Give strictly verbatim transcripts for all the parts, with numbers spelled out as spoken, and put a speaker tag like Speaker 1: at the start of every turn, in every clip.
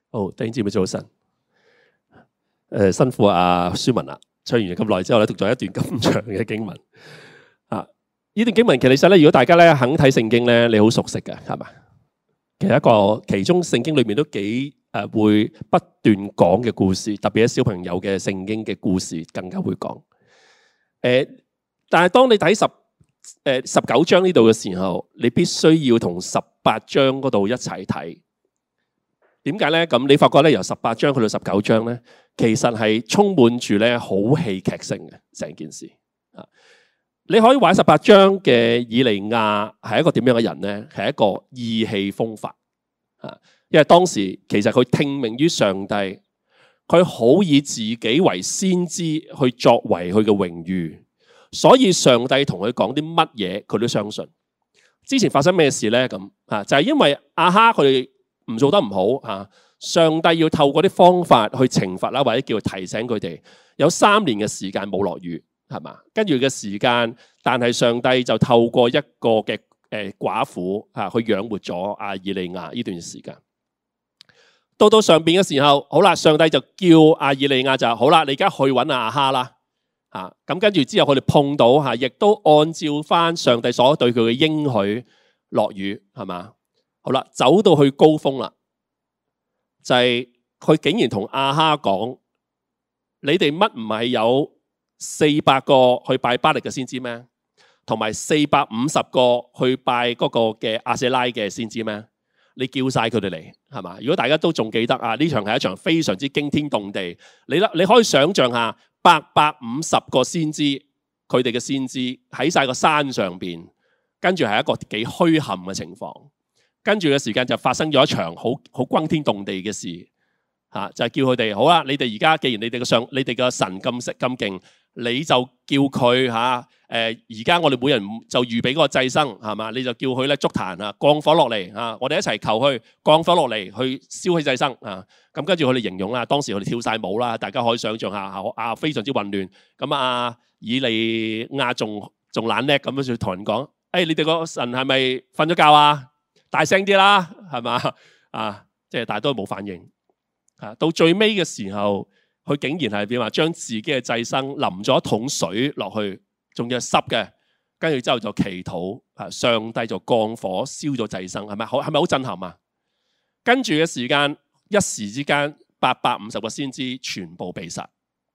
Speaker 1: 好，弟兄姊妹早晨。誒、呃，辛苦阿舒文啦，唱完咁耐之後咧，讀咗一段咁長嘅經文。啊，呢段經文其實咧，如果大家咧肯睇聖經咧，你好熟悉嘅，係嘛？其實一個其中聖經裏面都幾誒、呃、會不斷講嘅故事，特別係小朋友嘅聖經嘅故事更加會講。誒、呃，但係當你睇十誒、呃、十九章呢度嘅時候，你必須要同十八章嗰度一齊睇。點解咧？咁你發覺咧，由十八章去到十九章咧，其實係充滿住咧好戲劇性嘅成件事啊！你可以話十八章嘅以利亞係一個點樣嘅人咧？係一個意氣風發啊！因為當時其實佢聽命於上帝，佢好以自己為先知去作為佢嘅榮譽，所以上帝同佢講啲乜嘢，佢都相信。之前發生咩事咧？咁啊，就係因為亞哈佢哋唔做得唔好啊！上帝要透過啲方法去懲罰啦，或者叫提醒佢哋。有三年嘅時間冇落雨，係嘛？跟住嘅時間，但係上帝就透過一個嘅誒寡婦啊，去養活咗阿以利亞呢段時間。到到上邊嘅時候，好啦，上帝就叫阿以利亞就好啦，你而家去揾亞哈啦。啊，咁跟住之後佢哋碰到嚇，亦都按照翻上帝所對佢嘅應許落雨，係嘛？好啦，走到去高峰啦，就係、是、佢竟然同亞哈講：你哋乜唔係有四百個去拜巴力嘅先知咩？同埋四百五十個去拜嗰個嘅亞舍拉嘅先知咩？你叫晒佢哋嚟，係嘛？如果大家都仲記得啊，呢場係一場非常之驚天動地。你啦，你可以想象下，八百五十個先知，佢哋嘅先知喺晒個山上邊，跟住係一個幾墟冚嘅情況。跟住嘅時間就發生咗一場好好轟天動地嘅事，嚇就係叫佢哋好啦。你哋而家既然你哋嘅上，你哋嘅神咁食咁勁，你就叫佢嚇誒。而家我哋每人就預備嗰個祭牲係嘛？你就叫佢咧築壇啊，降火落嚟嚇。我哋一齊求佢降火落嚟，去燒起祭牲啊。咁跟住佢哋形容啦，當時佢哋跳晒舞啦，大家可以想象下啊，非常之混亂。咁啊，以利亞仲仲懶叻咁樣就同人講：誒、哎，你哋個神係咪瞓咗覺啊？大聲啲啦，係嘛？啊，即係大多冇反應。啊，到最尾嘅時候，佢竟然係點話？將自己嘅祭牲淋咗一桶水落去，仲要係濕嘅。跟住之後就祈禱，啊，上帝就降火燒咗祭牲，係咪？好，係咪好震撼啊？跟住嘅時間，一時之間，八百五十個先知全部被殺。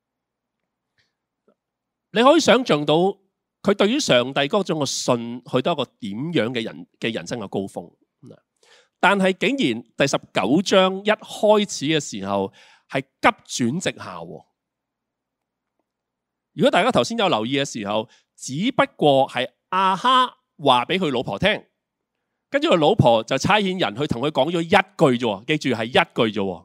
Speaker 1: 你可以想象到，佢對於上帝嗰種嘅信，去到一個點樣嘅人嘅人生嘅高峰。但係竟然第十九章一開始嘅時候係急轉直下。如果大家頭先有留意嘅時候，只不過係亞哈話俾佢老婆聽，跟住佢老婆就差遣人去同佢講咗一句啫，記住係一句啫。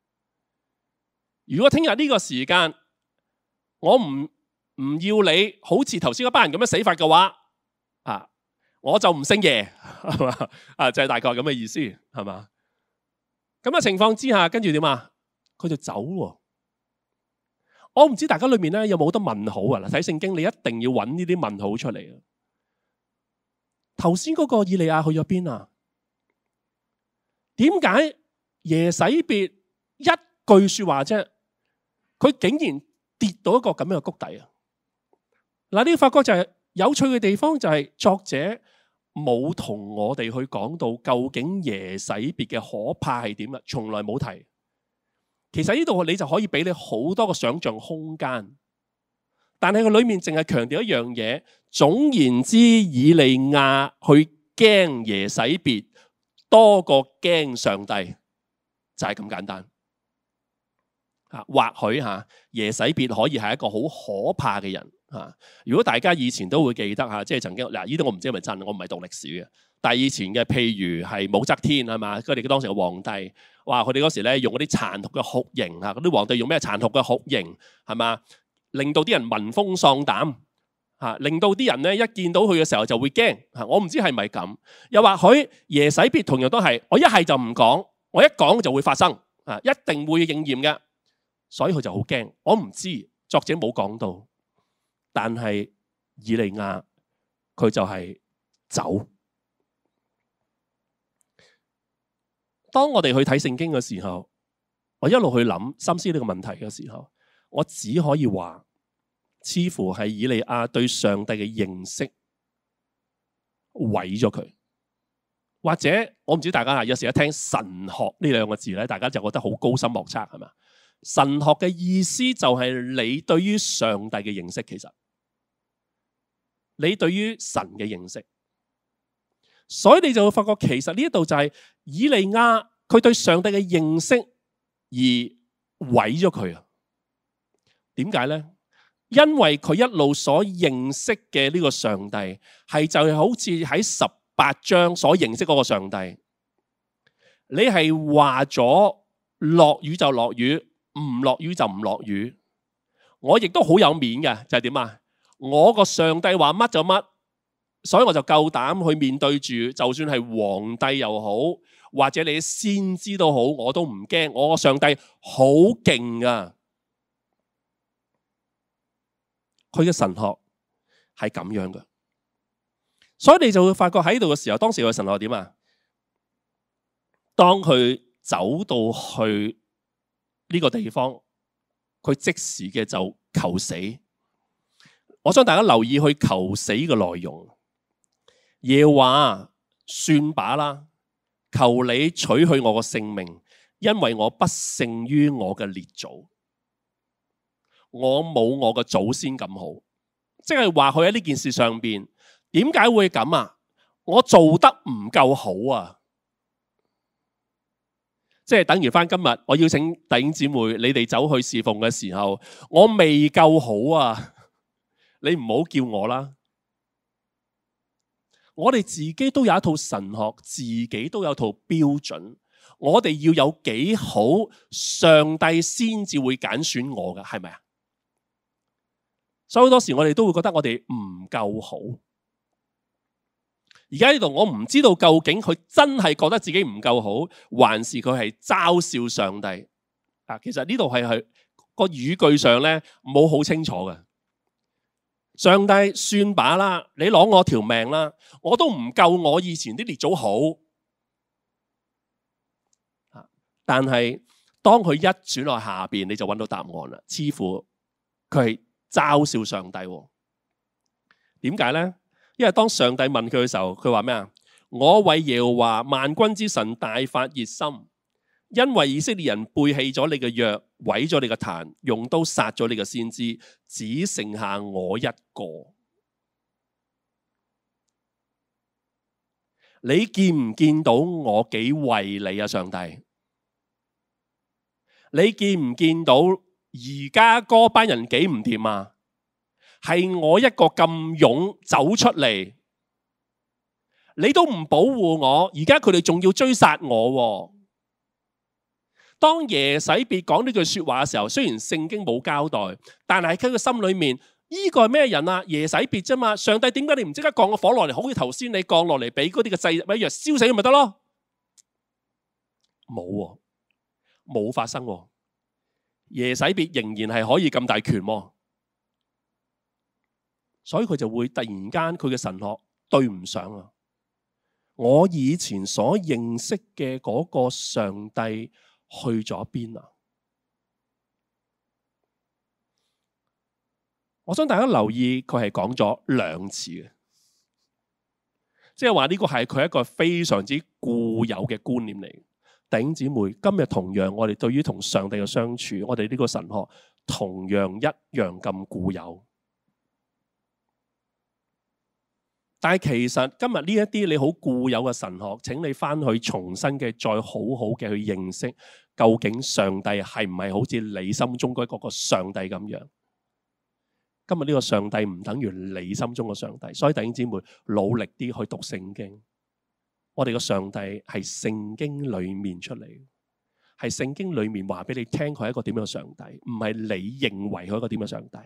Speaker 1: 如果聽日呢個時間我唔唔要你，好似頭先嗰班人咁樣死法嘅話，啊！我就唔姓爺，係嘛？啊，就係大概咁嘅意思，係嘛？咁嘅情況之下，跟住點啊？佢就走喎。我唔知大家裏面咧有冇好多問號啊？嗱，睇聖經你一定要揾呢啲問號出嚟啊！頭先嗰個以利亞去咗邊啊？點解耶洗別一句說話啫，佢竟然跌到一個咁樣嘅谷底啊？嗱，呢個發覺就係有趣嘅地方，就係作者冇同我哋去講到究竟耶洗別嘅可怕係點啊，從來冇提。其實呢度你就可以俾你好多個想象空間，但係佢裏面淨係強調一樣嘢。總言之，以利亞去驚耶洗別多過驚上帝，就係咁簡單。啊，或許吓耶洗別可以係一個好可怕嘅人。啊！如果大家以前都會記得嚇，即係曾經嗱，呢啲我唔知係咪真，我唔係讀歷史嘅。但係以前嘅，譬如係武則天係嘛，佢哋當時嘅皇帝，哇！佢哋嗰時咧用嗰啲殘酷嘅酷刑嚇，嗰啲皇帝用咩殘酷嘅酷刑係嘛，令到啲人聞風喪膽嚇，令到啲人咧一見到佢嘅時候就會驚嚇。我唔知係咪咁，又或許耶洗別同樣都係，我一係就唔講，我一講就會發生啊，一定會應驗嘅，所以佢就好驚。我唔知，作者冇講到。但係以利亞佢就係走。當我哋去睇聖經嘅時候， 我一路去諗深思呢個問題嘅時候，我只可以話，似乎係以利亞對上帝嘅認識毀咗佢。或者我唔知大家啊，有時一聽神學呢兩個字咧，大家就覺得好高深莫測係嘛？神學嘅意思就係你對於上帝嘅認識，其實你對於神嘅認識，所以你就會發覺其實呢一度就係以利亞佢對上帝嘅認識而毀咗佢啊？點解呢？因為佢一路所認識嘅呢個上帝係就係好似喺十八章所認識嗰個上帝，你係話咗落雨就落雨，唔落雨就唔落雨。我亦都好有面嘅，就係點啊？我個上帝話乜就乜，所以我就夠膽去面對住，就算係皇帝又好，或者你先知都好，我都唔驚。我個上帝好勁啊！佢嘅神學係咁樣嘅。所以你就會發覺喺度嘅時候，當時嘅神學點啊？當佢走到去呢個地方，佢即時嘅就求死。我想大家留意去求死嘅內容。耶和華，算把啦，求你取去我個性命，因為我不勝於我嘅列祖，我冇我嘅祖先咁好。即係話佢喺呢件事上邊。點解會咁啊？我做得唔夠好啊！即係等於翻今日，我邀請弟兄姊妹，你哋走去侍奉嘅時候，我未夠好啊！你唔好叫我啦。我哋自己都有一套神學，自己都有套標準。我哋要有幾好，上帝先至會揀選我㗎，係咪啊？所以好多時我哋都會覺得我哋唔夠好。而家呢度我唔知道究竟佢真係覺得自己唔夠好，還是佢係嘲笑上帝啊？其實呢度係係個語句上咧冇好清楚嘅。上帝算把啦，你攞我條命啦，我都唔夠我以前啲列祖好。但係當佢一轉落下邊，你就揾到答案啦。似乎佢係嘲笑上帝。點解咧？因為當上帝問佢嘅時候，佢話咩啊？我為耶和華萬軍之神大發熱心，因為以色列人背棄咗你嘅約，毀咗你嘅壇，用刀殺咗你嘅先知，只剩下我一個。你見唔見到我幾為你啊？上帝，你見唔見到而家嗰班人幾唔掂啊？係我一個咁勇走出嚟，你都唔保護我，而家佢哋仲要追殺我。當耶洗別講呢句說話嘅時候，雖然聖經冇交代，但係喺佢心裏面，呢個係咩人啊？耶洗別啫嘛。上帝點解你唔即刻降個火落嚟，好似頭先你降落嚟俾嗰啲嘅祭物一樣燒死佢咪得咯？冇，冇發生。耶洗別仍然係可以咁大權。所以佢就會突然間佢嘅神學對唔上啊！我以前所認識嘅嗰個上帝去咗邊啊？我想大家留意，佢係講咗兩次嘅，即係話呢個係佢一個非常之固有嘅觀念嚟。弟兄姊妹，今日同樣我哋對於同上帝嘅相處，我哋呢個神學同樣一樣咁固有。但係其實今日呢一啲你好固有嘅神學，請你翻去重新嘅再好好嘅去認識，究竟上帝係唔係好似你心中嗰個上帝咁樣？今日呢個上帝唔等於你心中嘅上帝，所以弟兄姊妹努力啲去讀聖經。我哋嘅上帝係聖經裏面出嚟，係聖經裏面話俾你聽佢係一個點樣嘅上帝，唔係你認為佢係一個點樣嘅上帝。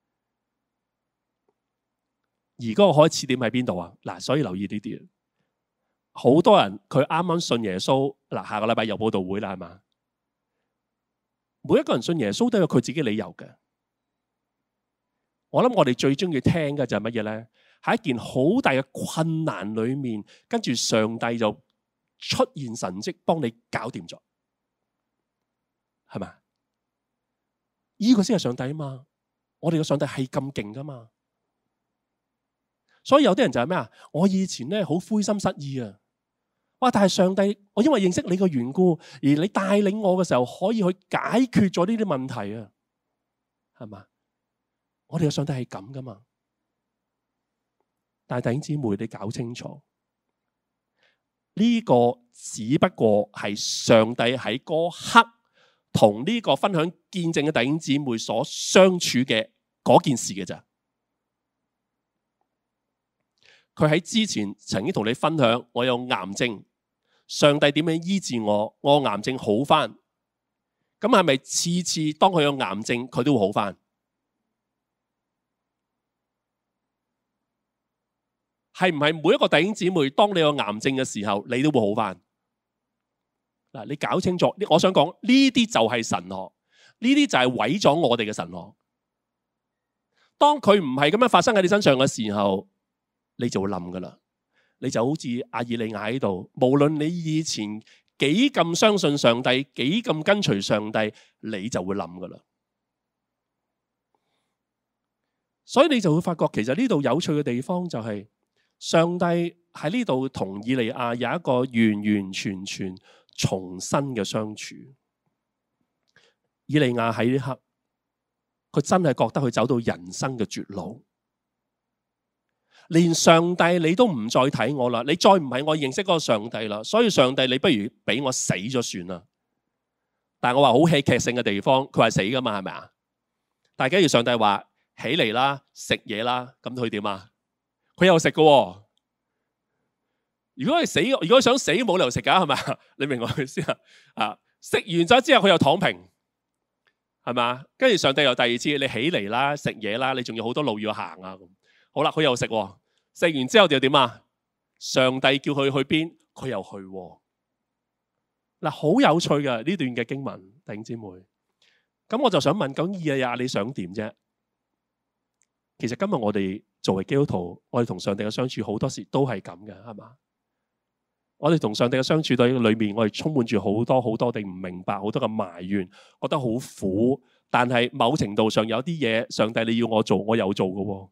Speaker 1: 而嗰個開始點喺邊度啊？嗱，所以留意呢啲。好多人佢啱啱信耶穌，嗱，下個禮拜又佈道會啦，係嘛？每一個人信耶穌都有佢自己理由嘅。我諗我哋最中意聽嘅就係乜嘢咧？喺一件好大嘅困難裏面，跟住上帝就出現神蹟，幫你搞掂咗， 係咪？呢個先係上帝啊嘛！我哋嘅上帝係咁勁噶嘛！所以有啲人就係咩啊？我以前咧好灰心失意啊！哇！但係上帝，我因為認識你嘅緣故，而你帶領我嘅時候，可以去解決咗呢啲問題啊，係嘛？我哋嘅上帝係咁噶嘛？但係弟兄姊妹，你搞清楚，呢個只不過係上帝喺嗰刻同呢個分享見證嘅弟兄姊妹所相處嘅嗰件事嘅咋。佢喺之前曾經同你分享，我有癌症，上帝點樣醫治我，我癌症好翻。咁係咪次次當佢有癌症，佢都會好翻？係唔係每一個弟兄姊妹，當你有癌症嘅時候，你都會好翻？嗱，你搞清楚，我想講呢啲就係神學，呢啲就係毀咗我哋嘅神學。當佢唔係咁樣發生喺你身上嘅時候，你就會冧噶啦，你就好似阿以利亞喺度，無論你以前幾咁相信上帝，幾咁跟隨上帝，你就會冧噶啦。所以你就會發覺，其實呢度有趣嘅地方就係，上帝喺呢度同以利亞有一個完完全全重新嘅相處。以利亞喺呢刻，佢真係覺得佢走到人生嘅絕路。連上帝你都唔再睇我啦，你再唔係我認識嗰個上帝啦，所以上帝你不如俾我死咗算啦。但係我話好戲劇性嘅地方，佢話死噶嘛，係咪啊？但係假如上帝話起嚟啦，食嘢啦，咁佢點啊？佢又食噶。如果係死，如果想死冇理由食噶，係咪？你明我意思啊？啊，食完咗之後佢又躺平，係嘛？跟住上帝又第二次你起嚟啦，食嘢啦，你仲有好多路要行啊。好啦，佢又食，食完之後就點啊？上帝叫佢去邊，佢又去。嗱，好有趣嘅呢段嘅經文，弟兄姊妹。咁我就想問，咁以利亞你想點啫？其實今日我哋作為基督徒，我哋同上帝嘅相處好多時都係咁嘅，係嘛？我哋同上帝嘅相處對裏面，我哋充滿住好多好多地唔明白，好多嘅埋怨，覺得好苦。但係某程度上有啲嘢，上帝你要我做，我有做嘅。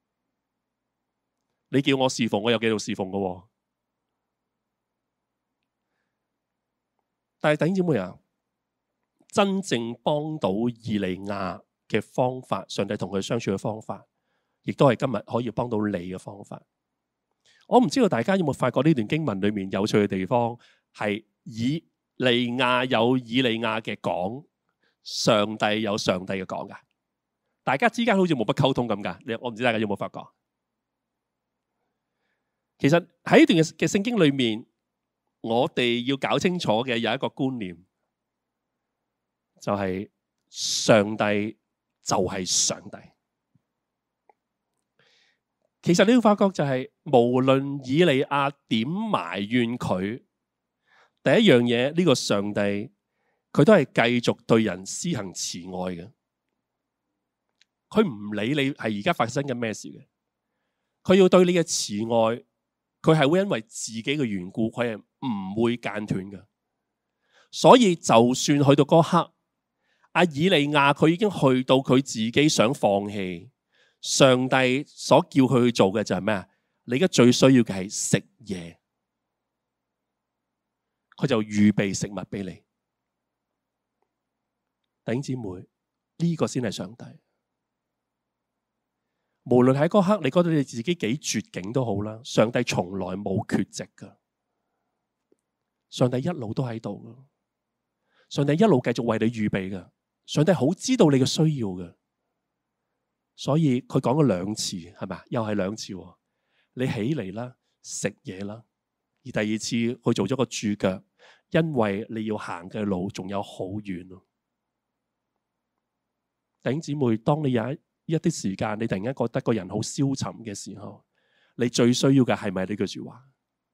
Speaker 1: 你叫我侍奉，我有繼續侍奉嘅。但係弟兄姊妹啊，真正幫到以利亞嘅方法，上帝同佢相處嘅方法，亦都係今日可以幫到你嘅方法。我唔知道大家有冇發覺呢段經文裏面有趣嘅地方，係以利亞有以利亞嘅講，上帝有上帝嘅講噶。大家之間好似冇乜溝通咁噶。你我唔知大家有冇發覺？其實喺呢段嘅聖經裏面，我哋要搞清楚嘅有一個觀念，就係上帝就係上帝。其實你要發覺就係，無論以利亞點埋怨佢，第一樣嘢呢個上帝佢都係繼續對人施行慈愛嘅。佢唔理你係而家發生緊咩事嘅，佢要對你嘅慈愛。佢係會因為自己嘅緣故，佢係唔會間斷嘅。所以就算去到嗰刻，阿以利亞佢已經去到佢自己想放棄，上帝所叫佢去做嘅就係咩啊？你而家最需要嘅係食嘢，佢就預備食物俾你。弟兄姊妹，呢個先係上帝。無論喺嗰刻你覺得你自己幾絕境都好啦，上帝從來冇缺席噶，上帝一路都喺度噶，上帝一路繼續為你預備噶，上帝好知道你嘅需要噶，所以佢講咗兩次，係咪？又係兩次，你起嚟啦，食嘢啦，而第二次佢做咗個注腳，因為你要行嘅路仲有好遠咯。弟兄姊妹，當你有一一啲時間，你突然間覺得個人好消沉嘅時候，你最需要嘅係咪呢句說話？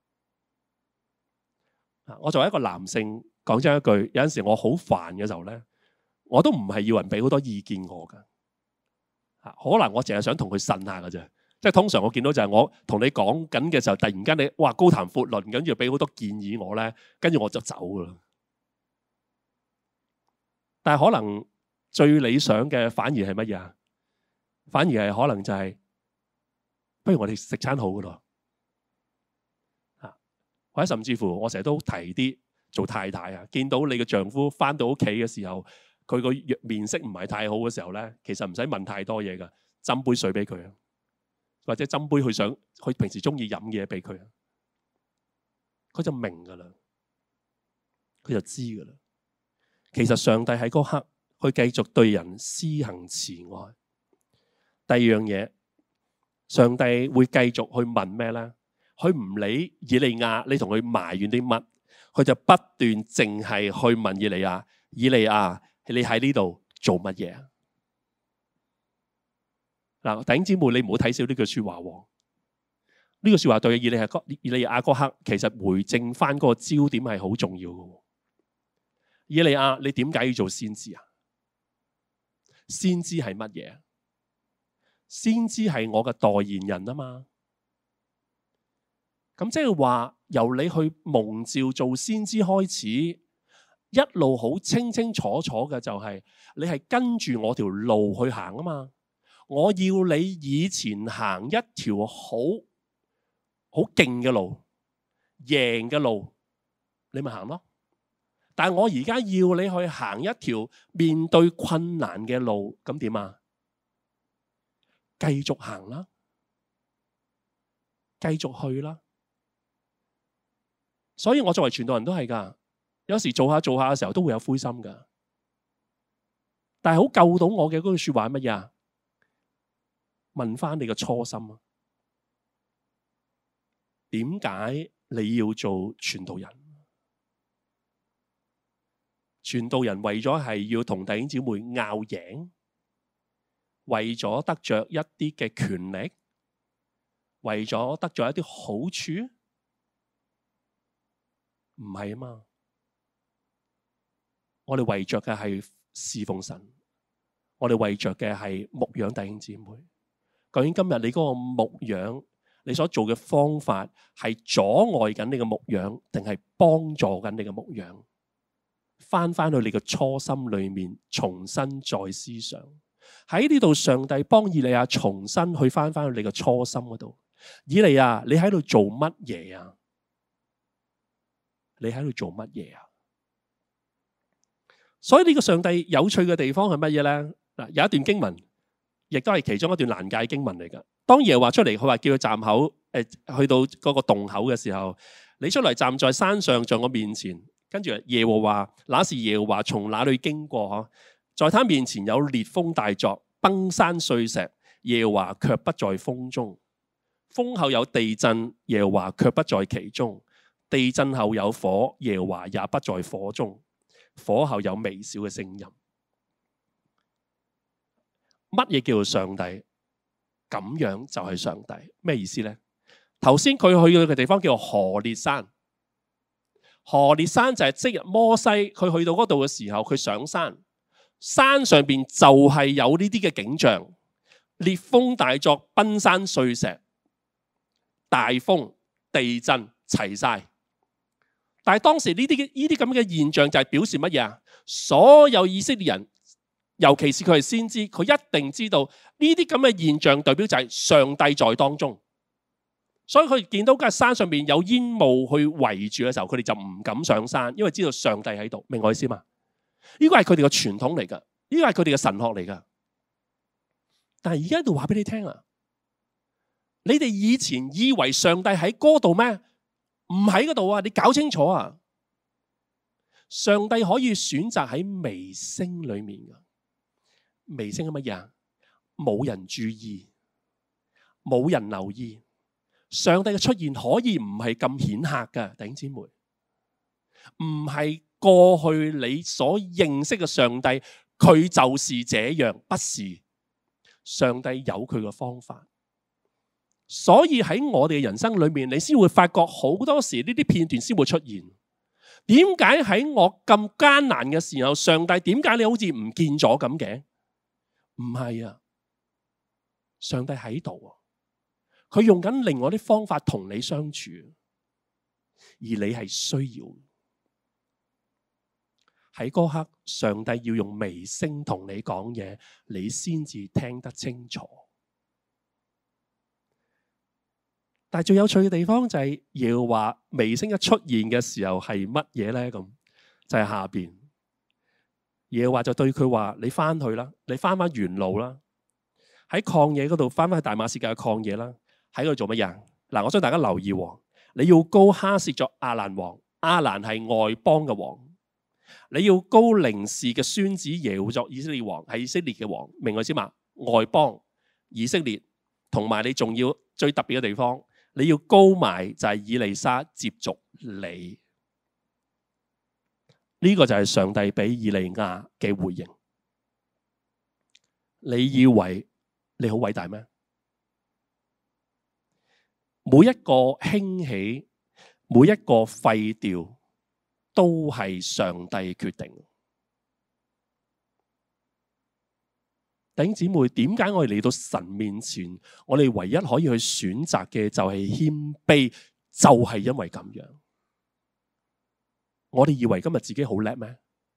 Speaker 1: 我作為一個男性，講真一句，有陣時我好煩嘅時候咧，我都唔係要人俾好多意見我噶。可能我淨係想同佢呻下噶啫。即係通常我見到就係我同你講緊嘅時候，突然間你哇高談闊論，跟住俾好多建議我咧，跟住我就走噶啦。 但係可能最理想嘅反而係乜嘢啊？反而係可能就係、是，不如我哋食餐好嘅咯。啊，或者甚至乎我成日都提啲做太太啊，見到你嘅丈夫翻到屋企嘅時候，佢個面色唔係太好嘅時候咧，其實唔使問太多嘢噶，斟杯水俾佢啊，或者斟杯佢想佢平時中意飲嘅嘢俾佢啊，佢就明噶啦，佢就知噶啦。其實上帝喺嗰刻去繼續對人施行慈愛。第二樣嘢，上帝會繼續去問咩咧？佢唔理以利亞，你同佢埋怨啲乜，佢就不斷淨係去問以利亞：以利亞，你喺呢度做乜嘢啊？嗱，弟兄姊妹，你唔好睇小呢句說話喎。呢句說話對以利亞以利亞嗰刻，其實回正翻嗰個焦點係好重要嘅。以利亞，你點解要做先知啊？先知係乜嘢？先知係我嘅代言人啊嘛。咁即係話，由你去蒙召做先知開始，一路好清清楚楚嘅就係、是，你係跟住我條路去行啊嘛。我要你以前行一條好好勁嘅路，贏嘅路，你咪行咯。但係我而家要你去行一條面對困難嘅路，咁點啊？繼續行啦，繼續去啦。所以我作為傳道人都係噶，有時做下做下嘅時候都會有灰心噶。但係好救到我嘅嗰句說話係乜嘢啊？問翻你嘅初心啊？點解你要做傳道人？傳道人為咗係要同弟兄姊妹拗贏，為咗得着一啲嘅權力，為咗得着一啲好處，唔係啊嘛。我哋為着嘅係侍奉神，我哋為着嘅係牧養弟兄姊妹。究竟今日你嗰個牧養，你所做嘅方法係阻礙緊你嘅牧養，定係幫助緊你嘅牧養？翻翻去你嘅初心裏面，重新再思想。喺呢度，上帝幫以利亞重新去翻翻去你嘅初心嗰度。以利亞，你喺度做乜嘢啊？你喺度做乜嘢啊？所以呢個上帝有趣嘅地方係乜嘢咧？嗱，有一段經文，亦都係其中一段難解經文嚟噶。當耶和華出嚟，佢話叫佢站口，誒、呃，去到嗰個洞口嘅時候，你出嚟站在山上，在我面前。跟住耶和華，那時耶和華從哪裏經過？嗬，在他面前有烈風大作，崩山碎石，耶和華卻不在風中。風後有地震，耶和華卻不在其中。地震後有火，耶和華也不在火中。火後有微小嘅聲音。乜嘢叫做上帝？咁樣就係上帝。咩意思呢？頭先佢去嘅地方叫做何烈山。何烈山就係即日摩西佢去到嗰度嘅時候，佢上山，山上邊就係有呢啲嘅景象，烈風大作，崩山碎石，大風、地震齊晒。但係當時呢啲呢啲咁嘅現象就係表示乜嘢啊？所有以色列人，尤其是佢係先知，佢一定知道呢啲咁嘅現象代表就係上帝在當中。所以佢見到嗰山上面有煙霧去圍住嘅時候，佢哋就唔敢上山，因為知道上帝喺度。明我意思嘛？呢個係佢哋嘅傳統嚟噶，呢個係佢哋嘅神學嚟噶。但係而家喺度話俾你聽啊，你哋以前以為上帝喺嗰度咩？唔喺嗰度啊！你搞清楚啊！上帝可以選擇喺微聲裏面噶。微聲係乜嘢啊？冇人注意，冇人留意。上帝嘅出現可以唔係咁顯赫㗎，弟兄姊妹，唔係過去你所認識嘅上帝，佢就是這樣，不是。上帝有佢嘅方法，所以喺我哋嘅人生裏面，你先會發覺好多時呢啲片段先會出現。點解喺我咁艱難嘅時候，上帝點解你好似唔見咗咁嘅？唔係啊，上帝喺度啊。佢用緊另外啲方法同你相處，而你係需要。 喺嗰刻，上帝要用微聲同你講嘢，你先至聽得清楚。但係最有趣嘅地方就係耶和華微聲一出現嘅時候係乜嘢呢？咁就係下邊耶和華就對佢話：你翻去啦，你翻翻原路啦，喺曠野嗰度翻翻去大馬士革嘅曠野啦，喺度做乜嘢？嗱，我想大家留意，你要膏哈薛作亞蘭王，亞蘭係外邦嘅王。你要膏寧示嘅孫子耶戶作以色列王，係以色列嘅王，明我知嘛？外邦以色列，同埋你仲要最特別嘅地方，你要膏埋就係以利沙接續你。呢個就係上帝俾以利亞嘅回應。你以為你好偉大咩？每一個興起，每一個廢掉，都係上帝決定。弟兄姊妹，點解我哋嚟到神面前，我哋唯一可以去選擇嘅就係謙卑，就係因為咁樣。我哋以為今日自己好叻咩？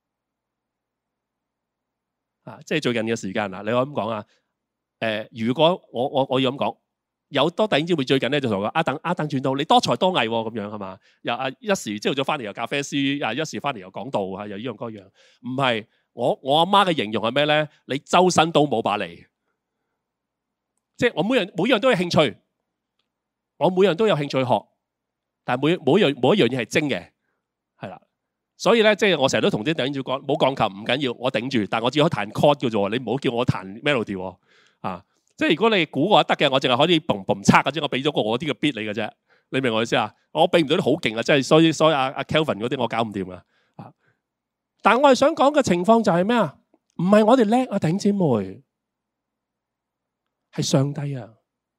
Speaker 1: 啊，即係最近嘅時間啦，你可以咁講啊？誒、呃，如果我我我要咁講。有多弟兄姊妹最近咧就同我講阿等阿等轉到你多才多藝咁樣係嘛？又啊一時朝早咗翻嚟又咖啡師，啊一時翻嚟又講道啊，又呢樣嗰樣。唔係，我我阿媽嘅形容係咩咧？你周身都冇把利，即係我每樣每樣都有興趣，我每樣都有興趣學，但係每每樣每一樣嘢係精嘅，係啦。所以咧，即係我成日都同啲弟兄姊妹講，冇鋼琴唔緊要，我頂住，但係我只可以彈 chord 嘅啫，你唔好叫我彈 melody 啊。即係如果你估我得嘅，我淨係可以嘣嘣測嘅啫，我俾咗個我啲嘅 beat 你嘅啫，你明我意思啊？我俾唔到啲好勁啊，即係所以所以阿阿 Kelvin 嗰啲我搞唔掂啊！但係我係想講嘅情況就係咩啊？唔係我哋叻啊，弟兄姊妹，係上帝啊，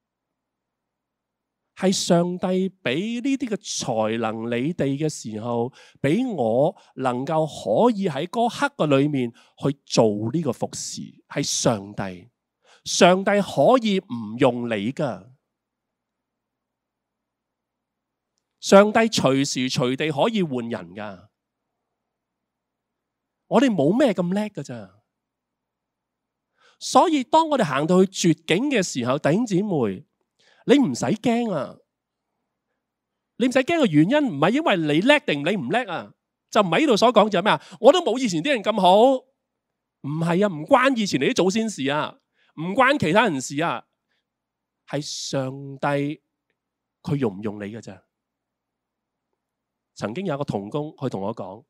Speaker 1: 係上帝俾呢啲嘅才能你哋嘅時候，俾我能夠可以喺嗰刻嘅裏面去做呢個服侍，係上帝。上帝可以唔用你噶，上帝隨時隨地可以換人噶。我哋冇咩咁叻噶咋，所以當我哋行到去絕境嘅時候，弟兄姊妹，你唔使驚啊！你唔使驚嘅原因唔係因為你叻定你唔叻啊，就唔係呢度所講就係咩啊？我都冇以前啲人咁好，唔係啊，唔關以前你啲祖先事啊。唔關其他人事啊，係上帝佢用唔用你嘅啫。曾經有一個同工佢同我講，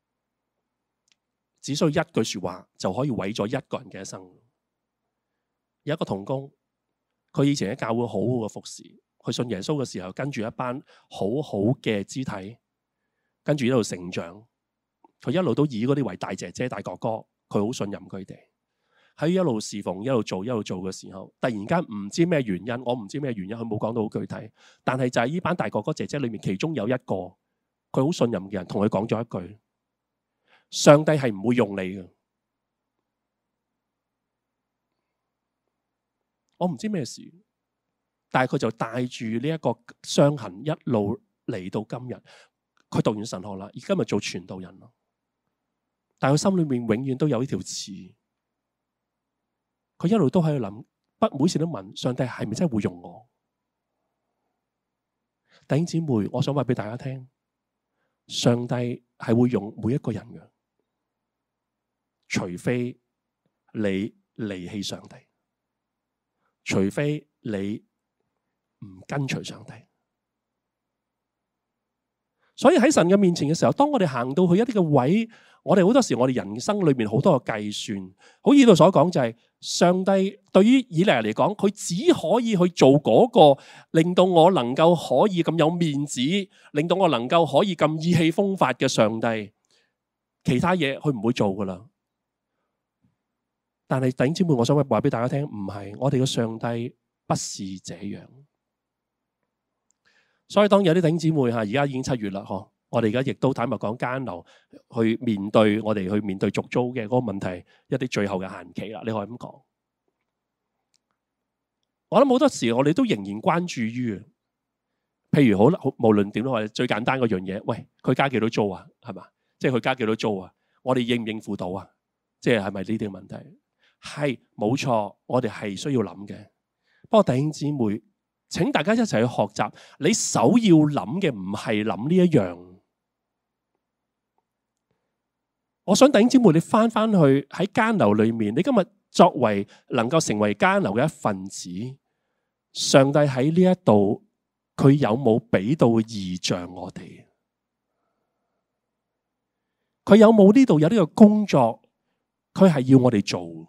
Speaker 1: 只需要一句說話就可以毀咗一個人嘅一生。有一個同工，佢以前喺教會好好嘅服侍，佢信耶穌嘅時候跟住一班好好嘅肢體，跟住一路成長，佢一路都以嗰啲為大姐姐大哥哥，佢好信任佢哋。喺一路侍奉、一路做、一路做嘅時候，突然間唔知咩原因，我唔知咩原因，佢冇講到好具體。但係就係呢班大哥哥姐姐裏面，其中有一個佢好信任嘅人，同佢講咗一句：上帝係唔會用你嘅。我唔知咩事，但係佢就帶住呢一個傷痕一路嚟到今日。佢讀完神學啦，而今日做傳道人咯。但係佢心裏面永遠都有呢條刺。佢一路都喺度諗，不每次都問上帝係咪真係會用我？弟兄姊妹，我想話俾大家聽，上帝係會用每一個人嘅，除非你離棄上帝，除非你唔跟隨上帝。所以喺神嘅面前嘅時候，當我哋行到去一啲嘅位，我哋好多時我哋人生裏面好多嘅計算，好似呢度所講就係上帝對於以利亞嚟講，佢只可以去做嗰個令到我能夠可以咁有面子，令到我能夠可以咁意氣風發嘅上帝，其他嘢佢唔會做噶啦。但係弟兄姊妹，我想話俾大家聽，唔係，我哋嘅上帝不是這樣。所以當有啲弟兄姊妹吓，而家已經七月啦，嗬，我哋而家亦都坦白講艱難去面對我哋去面對續租嘅嗰個問題，一啲最後嘅限期啦，你可以咁講。我諗好多時我哋都仍然關注於，譬如好，無論點都好，最簡單嗰樣嘢，喂，佢加幾多租啊？係嘛，即係佢加幾多租啊？ 我哋應唔應付到啊？即係係咪呢啲問題？係冇錯，我哋係需要諗嘅。不過弟兄姊妹，請大家一齊去學習，你首要諗嘅唔係諗呢一樣。我想弟兄姊妹，你翻翻去喺監樓裏面，你今日作為能夠成為監樓嘅一份子，上帝喺呢一度，佢有冇俾到異象我哋？佢有冇呢度有呢個工作？佢係要我哋做。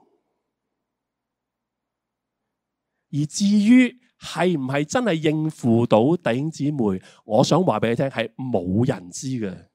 Speaker 1: 而至於係唔係真係應付到弟兄姊妹，我想話俾你聽，係冇人知嘅。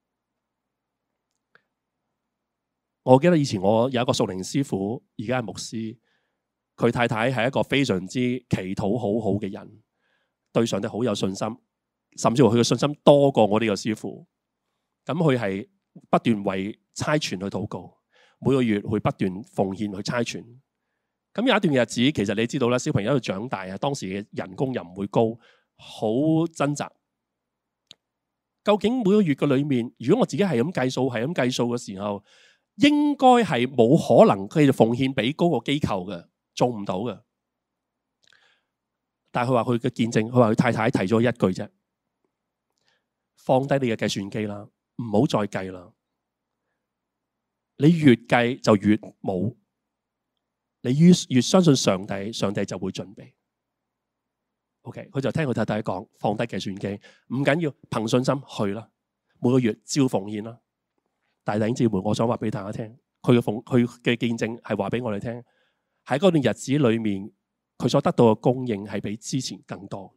Speaker 1: 我記得以前我有一個屬靈師傅，而家係牧師，佢太太係一個非常之祈禱好好嘅人，對上帝好有信心，甚至乎佢嘅信心多過我呢個師傅。咁佢係不斷為差傳去禱告，每個月會不斷奉獻去差傳。咁有一段日子，其實你知道啦，小朋友喺度長大啊，當時嘅人工又唔會高，好掙扎。究竟每個月嘅裏面，如果我自己係咁計數，係咁計數嘅時候，應該係冇可能繼續奉獻俾嗰個機構嘅，做唔到嘅。但係佢話佢嘅見證，佢話佢太太提咗一句啫：放低你嘅計算機啦，唔好再計啦。你越計就越冇。你越越相信上帝，上帝就會準備。OK， 佢就聽佢太太講，放低計算機，唔緊要，憑信心去啦。每個月照奉獻啦。大弟兄姊妹，我想話俾大家聽，佢嘅奉佢嘅見證係話俾我哋聽，喺嗰段日子裏面，佢所得到嘅供應係比之前更多。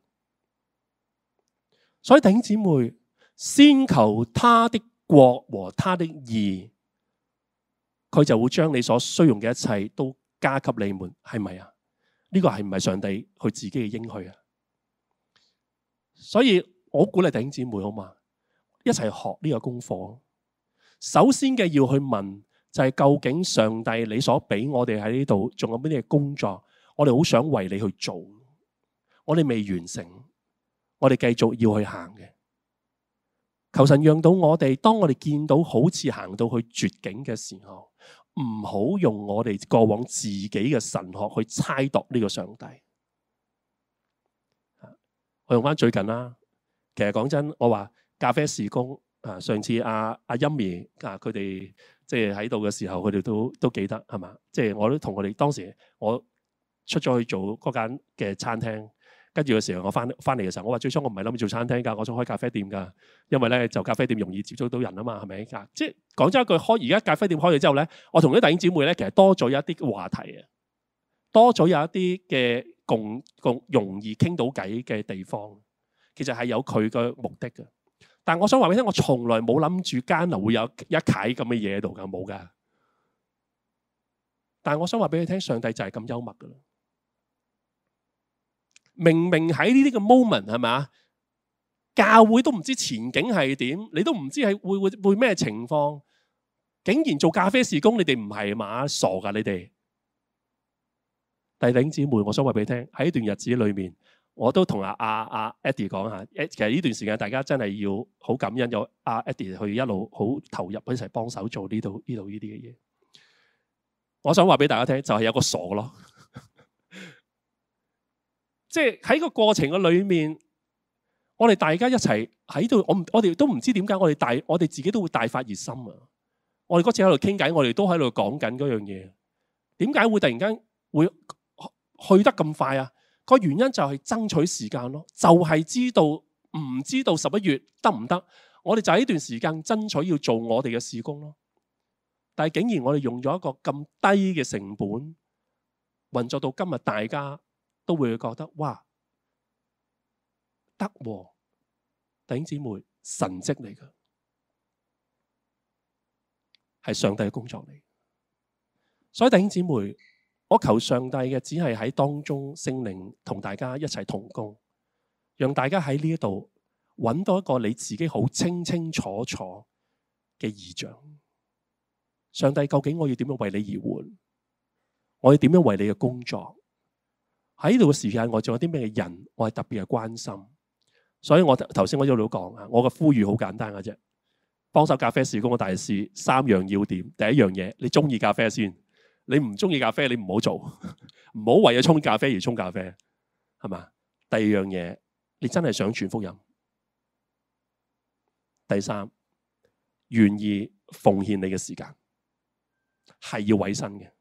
Speaker 1: 所以弟兄姊妹，先求他的國和他的義，佢就會將你所需用嘅一切都加給你們，係咪啊？呢個係唔係上帝佢自己嘅應許啊？所以我鼓勵弟兄姊妹好嘛，一齊學呢個功課。首先嘅要去問就係，究竟上帝你所俾我哋喺呢度仲有咩嘢工作？我哋好想為你去做，我哋未完成，我哋繼續要去行嘅。求神讓到我哋，當我哋見到好似行到去絕境嘅時候，唔好用我哋過往自己嘅神學去猜度呢個上帝。我用翻最近啦，其實講真，我話咖啡事工啊，上次阿阿音兒啊，佢哋即係喺度嘅時候，佢哋都都記得係嘛？即係我都同佢哋當時我出咗去做嗰間嘅餐廳。跟住嘅時候，我翻翻嚟嘅時候，我話最初我唔係諗住做餐廳㗎，我想開咖啡店㗎，因為咧就咖啡店容易接觸到人啊嘛，係咪？即係講真一句，開而家咖啡店開咗之後咧，我同啲弟兄姊妹咧，其實多咗一啲話題啊，多咗有一啲嘅共共容易傾到偈嘅地方，其實係有佢嘅目的嘅。但係我想話俾你聽，我從來冇諗住間樓會有一啓咁嘅嘢喺度㗎，冇㗎。但係我想話俾你聽，上帝就係咁幽默㗎啦。明明喺呢啲嘅 moment 係咪？教會都唔知前景係點，你都唔知係會會會咩情況，竟然做咖啡事工，你哋唔係嘛？傻噶你哋！弟兄姊妹，我想話俾你聽，喺呢段日子裏面，我都同阿阿阿 Eddie 講下，其實呢段時間大家真係要好感恩，有阿 Eddie 去一路好投入一齊幫手做呢度呢度呢啲嘅嘢。我想話俾大家聽，就係有個傻咯。即係喺個過程嘅裏面，我哋大家一齊喺度，我唔我哋都唔知點解，我哋大我哋自己都會大發熱心啊！我哋嗰次喺度傾偈，我哋都喺度講緊嗰樣嘢。點解會突然間會去得咁快啊？個原因就係爭取時間咯，就係知道唔知道十一月得唔得？我哋就喺呢段時間爭取要做我哋嘅事工咯。但係竟然我哋用咗一個咁低嘅成本運作到今日，大家都會覺得哇，得喎，弟兄姊妹，神蹟嚟㗎，係上帝嘅工作嚟。所以弟兄姊妹，我求上帝嘅只係喺當中聖靈同大家一齊同工，讓大家喺呢一度揾到一個你自己好清清楚楚嘅異象。上帝，究竟我要點樣為你而活？我要點樣為你嘅工作？喺呢度嘅時間，我仲有啲咩人，我係特別嘅關心。所以我頭先我一路講啊，我嘅呼籲好簡單嘅啫。 幫手咖啡事工嘅大使三樣要點。第一樣嘢，你中意咖啡先。你唔中意咖啡，你唔好做，唔好為咗沖咖啡而沖咖啡，係嘛？第二樣嘢，你真係想傳福音。第三，願意奉獻你嘅時間，係要委身嘅。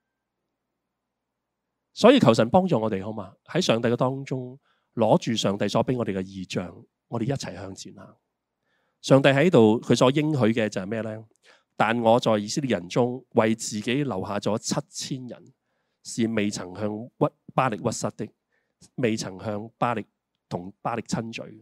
Speaker 1: 所以求神幫助我哋，好嘛？喺上帝嘅當中，攞住上帝所俾我哋嘅異象，我哋一齊向前行。上帝喺度，佢所應許嘅就係咩呢？但我在以色列人中為自己留下咗七千人，是未曾向屈巴力屈膝的，未曾向巴力同巴力親嘴。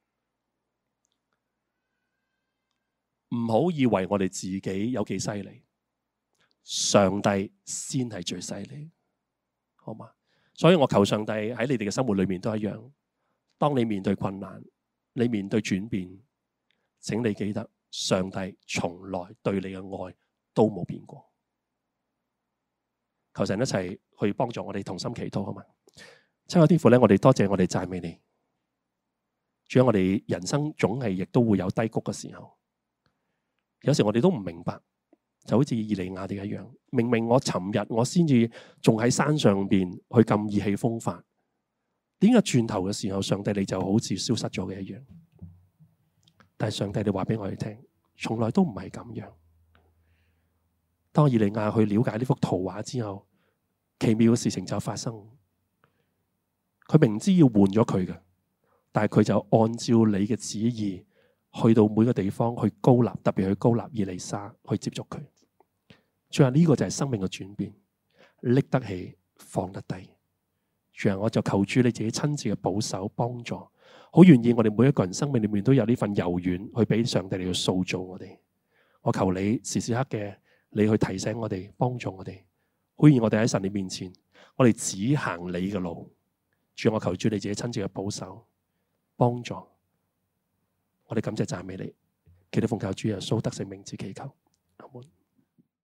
Speaker 1: 唔好以為我哋自己有幾犀利，上帝先係最犀利，好嘛？所以我求上帝喺你哋嘅生活裏面都一樣。當你面對困難，你面對轉變，請你記得。上帝從來對你嘅愛都冇變過。求神一齊去幫助我哋同心祈禱，好嘛？親愛天父咧，我哋多謝我哋讚美你。主要我哋人生總係亦都會有低谷嘅時候，有時我哋都唔明白，就好似以利亞哋一樣。明明我尋日我先至仲喺山上邊去咁意氣風發，點解轉頭嘅時候，上帝你就好似消失咗嘅一樣？但係上帝，你話俾我哋聽，從來都唔係咁樣。當以利亞去了解呢幅圖畫之後，奇妙嘅事情就發生。佢明知要換咗佢嘅，但係佢就按照你嘅旨意，去到每個地方去膏立，特別去膏立以利沙去接觸佢。最後呢個就係生命嘅轉變，拎得起，放得低。最後我就求主你自己親自嘅保守幫助。好願意我哋每一個人生命裏面都有呢份柔軟，去俾上帝嚟去塑造我哋。我求你時時刻嘅你去提醒我哋，幫助我哋。好願意我哋喺神你面前，我哋只行你嘅路。主，我求主你自己親自嘅保守幫助。我哋感謝讚美你，祈禱奉靠主耶穌得勝名字祈求。